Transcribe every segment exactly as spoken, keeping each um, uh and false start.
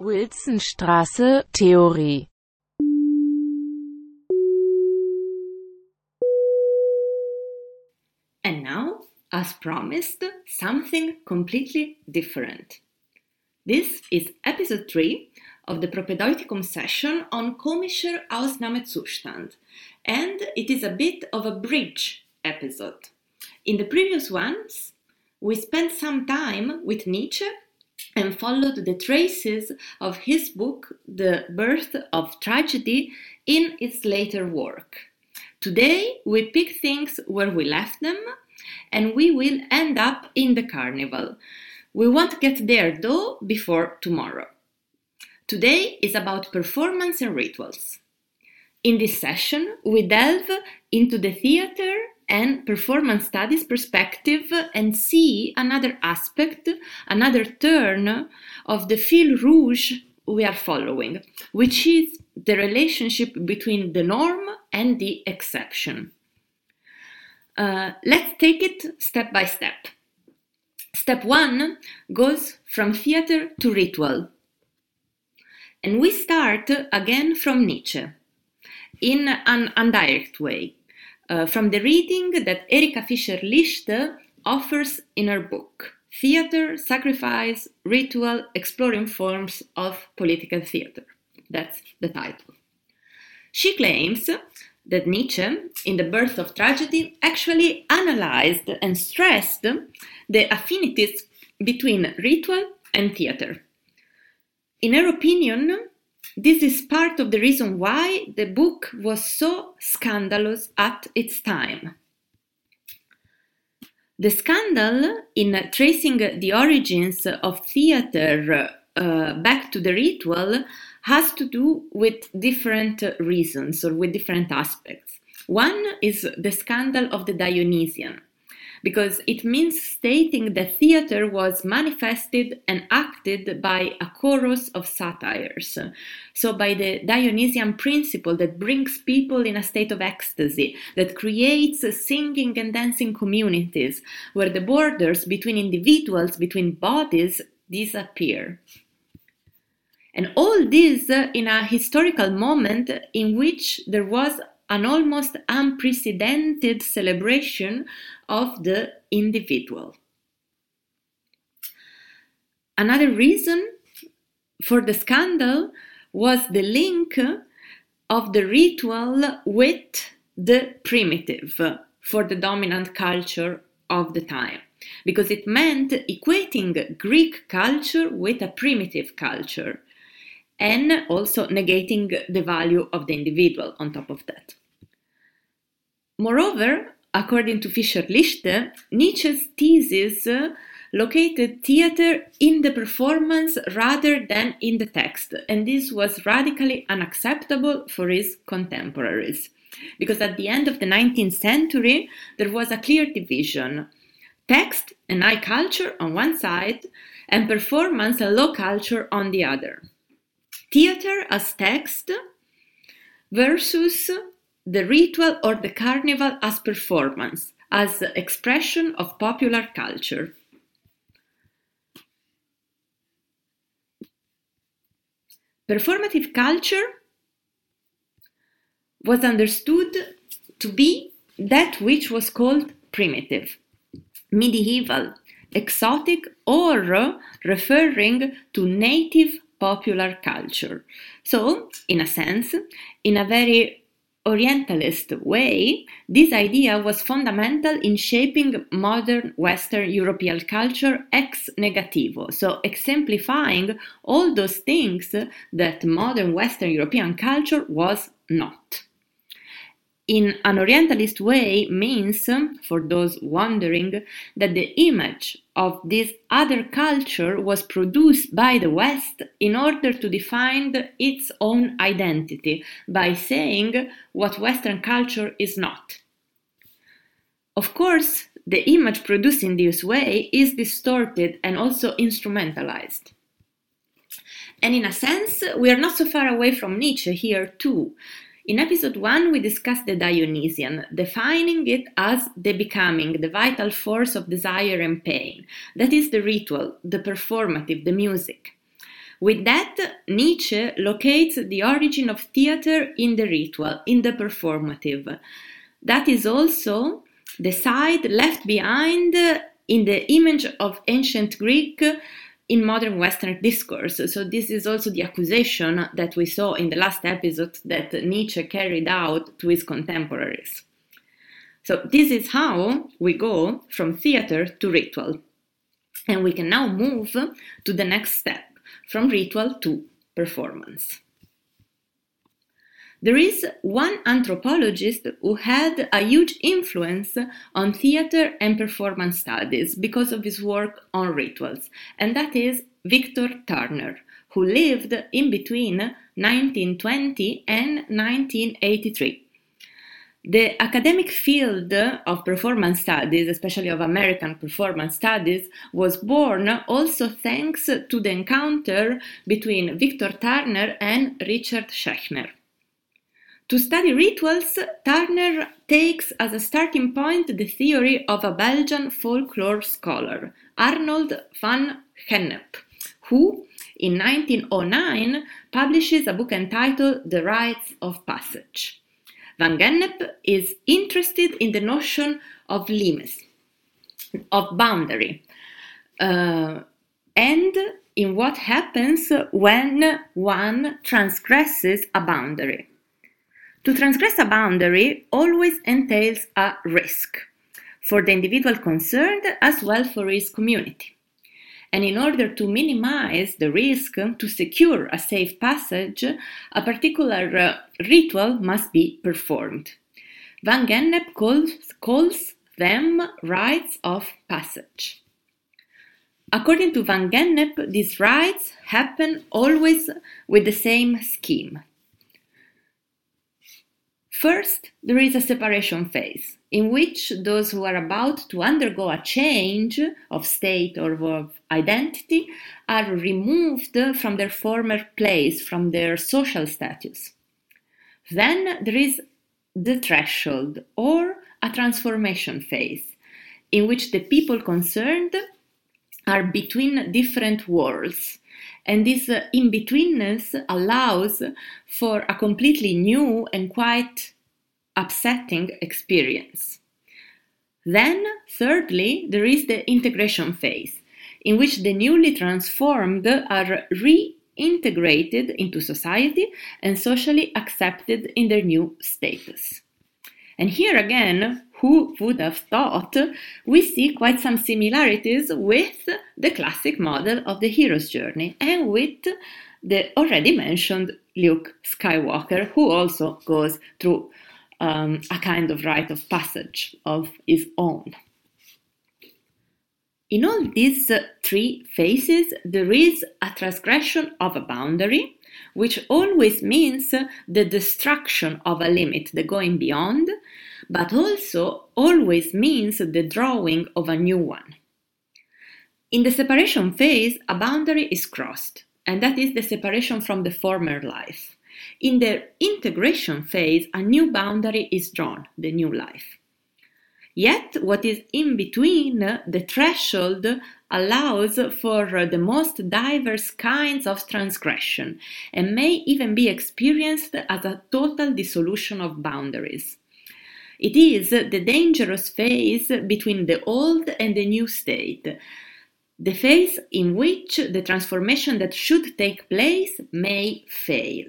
Wilsonstraße, Theorie. And now, as promised, something completely different. This is episode three of the Propedeuticum session on Komischer Ausnahmezustand, and it is a bit of a bridge episode. In the previous ones, we spent some time with Nietzsche and followed the traces of his book, The Birth of Tragedy, in its later work. Today, we pick things where we left them, and we will end up in the carnival. We won't get there, though, before tomorrow. Today is about performance and rituals. In this session, we delve into the theater and performance studies perspective and see another aspect, another turn of the fil rouge we are following, which is the relationship between the norm and the exception. Uh, let's take it step by step. Step one goes from theater to ritual. And we start again from Nietzsche, in an indirect way, uh, from the reading that Erika Fischer-Lichte offers in her book, Theater, Sacrifice, Ritual, Exploring Forms of Political Theater. That's the title. She claims that Nietzsche, in The Birth of Tragedy, actually analyzed and stressed the affinities between ritual and theater. In her opinion, this is part of the reason why the book was so scandalous at its time. The scandal in tracing the origins of theater uh, back to the ritual has to do with different reasons or with different aspects. One is the scandal of the Dionysian, because it means stating that theater was manifested and acted by a chorus of satyrs, so by the Dionysian principle that brings people in a state of ecstasy, that creates singing and dancing communities, where the borders between individuals, between bodies, disappear. And all this in a historical moment in which there was an almost unprecedented celebration of the individual. Another reason for the scandal was the link of the ritual with the primitive for the dominant culture of the time, because it meant equating Greek culture with a primitive culture, and also negating the value of the individual on top of that. Moreover, according to Fischer-Lichte, Nietzsche's thesis located theater in the performance rather than in the text, and this was radically unacceptable for his contemporaries, because at the end of the nineteenth century, there was a clear division: text and high culture on one side, and performance and low culture on the other. Theater as text versus the ritual or the carnival as performance, as expression of popular culture. Performative culture was understood to be that which was called primitive, medieval, exotic, or referring to native popular culture. So, in a sense, in a very Orientalist way, this idea was fundamental in shaping modern Western European culture ex negativo, so exemplifying all those things that modern Western European culture was not. In an Orientalist way means, for those wondering, that the image of this other culture was produced by the West in order to define its own identity by saying what Western culture is not. Of course, the image produced in this way is distorted and also instrumentalized. And in a sense, we are not so far away from Nietzsche here too. In episode one, we discussed the Dionysian, defining it as the becoming, the vital force of desire and pain. That is the ritual, the performative, the music. With that, Nietzsche locates the origin of theater in the ritual, in the performative. That is also the side left behind in the image of ancient Greek in modern Western discourse. So this is also the accusation that we saw in the last episode that Nietzsche carried out to his contemporaries. So this is how we go from theater to ritual. And we can now move to the next step, from ritual to performance. There is one anthropologist who had a huge influence on theater and performance studies because of his work on rituals, and that is Victor Turner, who lived in between nineteen twenty and nineteen eighty-three. The academic field of performance studies, especially of American performance studies, was born also thanks to the encounter between Victor Turner and Richard Schechner. To study rituals, Turner takes as a starting point the theory of a Belgian folklore scholar, Arnold van Gennep, who, in nineteen oh nine, publishes a book entitled The Rites of Passage. Van Gennep is interested in the notion of limes, of boundary, uh, and in what happens when one transgresses a boundary. To transgress a boundary always entails a risk for the individual concerned as well for his community. And in order to minimize the risk, to secure a safe passage, a particular uh, ritual must be performed. Van Gennep calls, calls them rites of passage. According to Van Gennep, these rites happen always with the same scheme. First, there is a separation phase, in which those who are about to undergo a change of state or of identity are removed from their former place, from their social status. Then there is the threshold, or a transformation phase, in which the people concerned are between different worlds. And this uh, in-betweenness allows for a completely new and quite upsetting experience. Then, thirdly, there is the integration phase, in which the newly transformed are reintegrated into society and socially accepted in their new status. And here again, who would have thought, we see quite some similarities with the classic model of the hero's journey and with the already mentioned Luke Skywalker, who also goes through um, a kind of rite of passage of his own. In all these uh, three phases, there is a transgression of a boundary, which always means the destruction of a limit, the going beyond, but also always means the drawing of a new one. In the separation phase, a boundary is crossed, and that is the separation from the former life. In the integration phase, a new boundary is drawn, the new life. Yet, what is in between, the threshold, allows for the most diverse kinds of transgression and may even be experienced as a total dissolution of boundaries. It is the dangerous phase between the old and the new state, the phase in which the transformation that should take place may fail.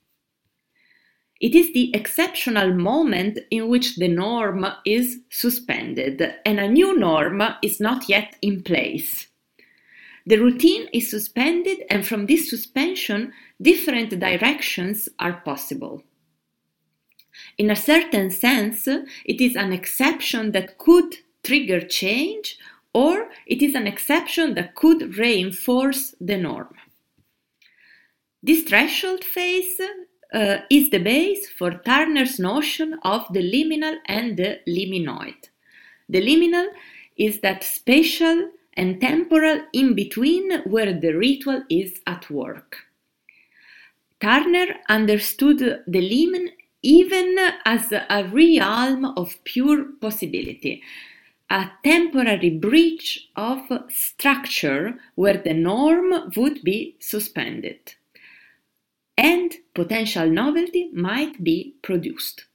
It is the exceptional moment in which the norm is suspended and a new norm is not yet in place. The routine is suspended, and from this suspension, different directions are possible. In a certain sense, it is an exception that could trigger change, or it is an exception that could reinforce the norm. This threshold phase uh, is the base for Turner's notion of the liminal and the liminoid. The liminal is that spatial and temporal in-between where the ritual is at work. Turner understood the limen even as a realm of pure possibility, a temporary breach of structure where the norm would be suspended, and potential novelty might be produced.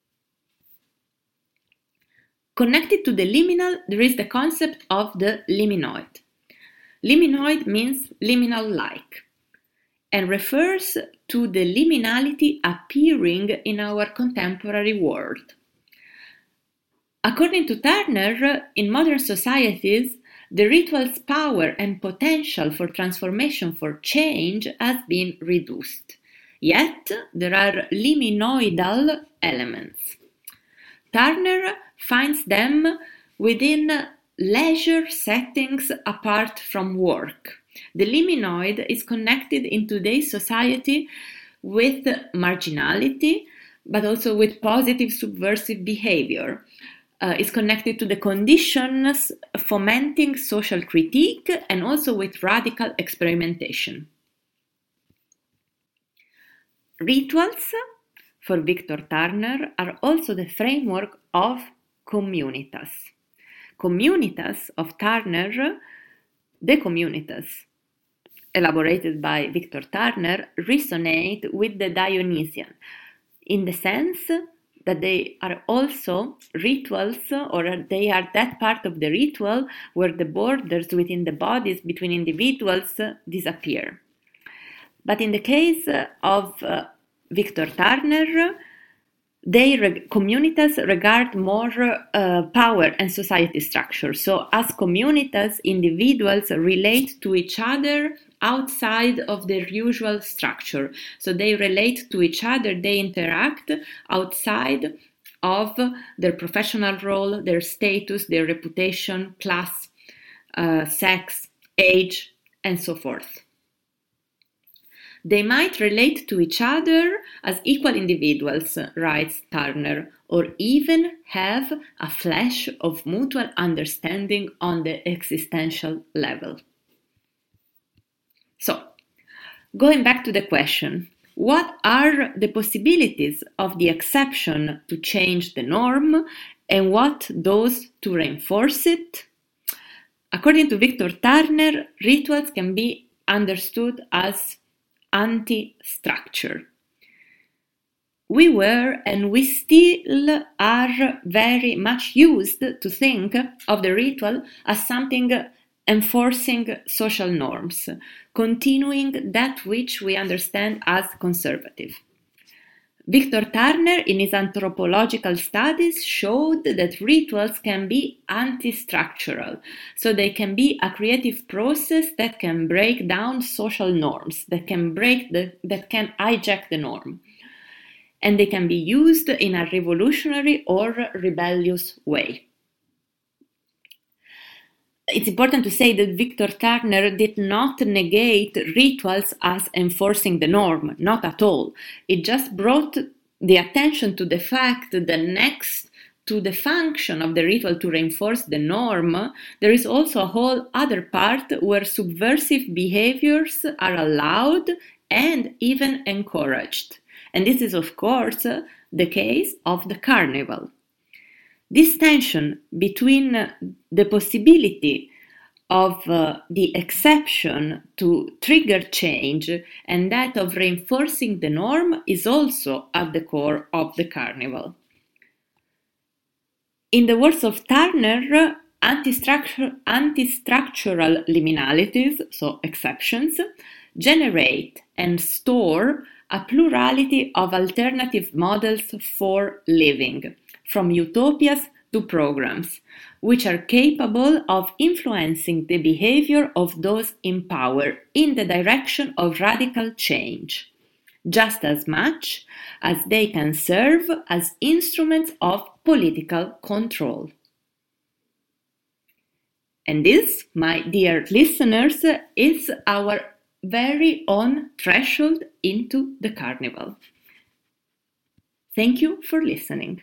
Connected to the liminal, there is the concept of the liminoid. Liminoid means liminal-like and refers to the liminality appearing in our contemporary world. According to Turner, in modern societies, the ritual's power and potential for transformation, for change, has been reduced. Yet, there are liminoidal elements. Turner finds them within leisure settings apart from work. The liminoid is connected in today's society with marginality, but also with positive subversive behavior. Uh, is connected to the conditions fomenting social critique and also with radical experimentation. Rituals, for Victor Turner, are also the framework of communitas. Communitas of Turner, the communitas elaborated by Victor Turner, resonate with the Dionysian in the sense that they are also rituals, or they are that part of the ritual where the borders within the bodies between individuals disappear. But in the case of uh, Victor Turner, they reg- communitas regard more uh, power and society structure. So as communitas, individuals relate to each other outside of their usual structure. So they relate to each other, they interact outside of their professional role, their status, their reputation, class, uh, sex, age, and so forth. They might relate to each other as equal individuals, writes Turner, or even have a flash of mutual understanding on the existential level. So, going back to the question, what are the possibilities of the exception to change the norm and what those to reinforce it? According to Victor Turner, rituals can be understood as anti-structure. We were and we still are very much used to think of the ritual as something enforcing social norms, continuing that which we understand as conservative. Victor Turner, in his anthropological studies, showed that rituals can be anti-structural, so they can be a creative process that can break down social norms, that can break the, that can hijack the norm, and they can be used in a revolutionary or rebellious way. It's important to say that Victor Turner did not negate rituals as enforcing the norm, not at all. It just brought the attention to the fact that next to the function of the ritual to reinforce the norm, there is also a whole other part where subversive behaviors are allowed and even encouraged. And this is, of course, the case of the carnival. This tension between the possibility of uh, the exception to trigger change and that of reinforcing the norm is also at the core of the carnival. In the words of Turner, anti-structure, anti-structural liminalities, so exceptions, generate and store a plurality of alternative models for living, from utopias to programs, which are capable of influencing the behavior of those in power in the direction of radical change, just as much as they can serve as instruments of political control. And this, my dear listeners, is our very own threshold into the carnival. Thank you for listening.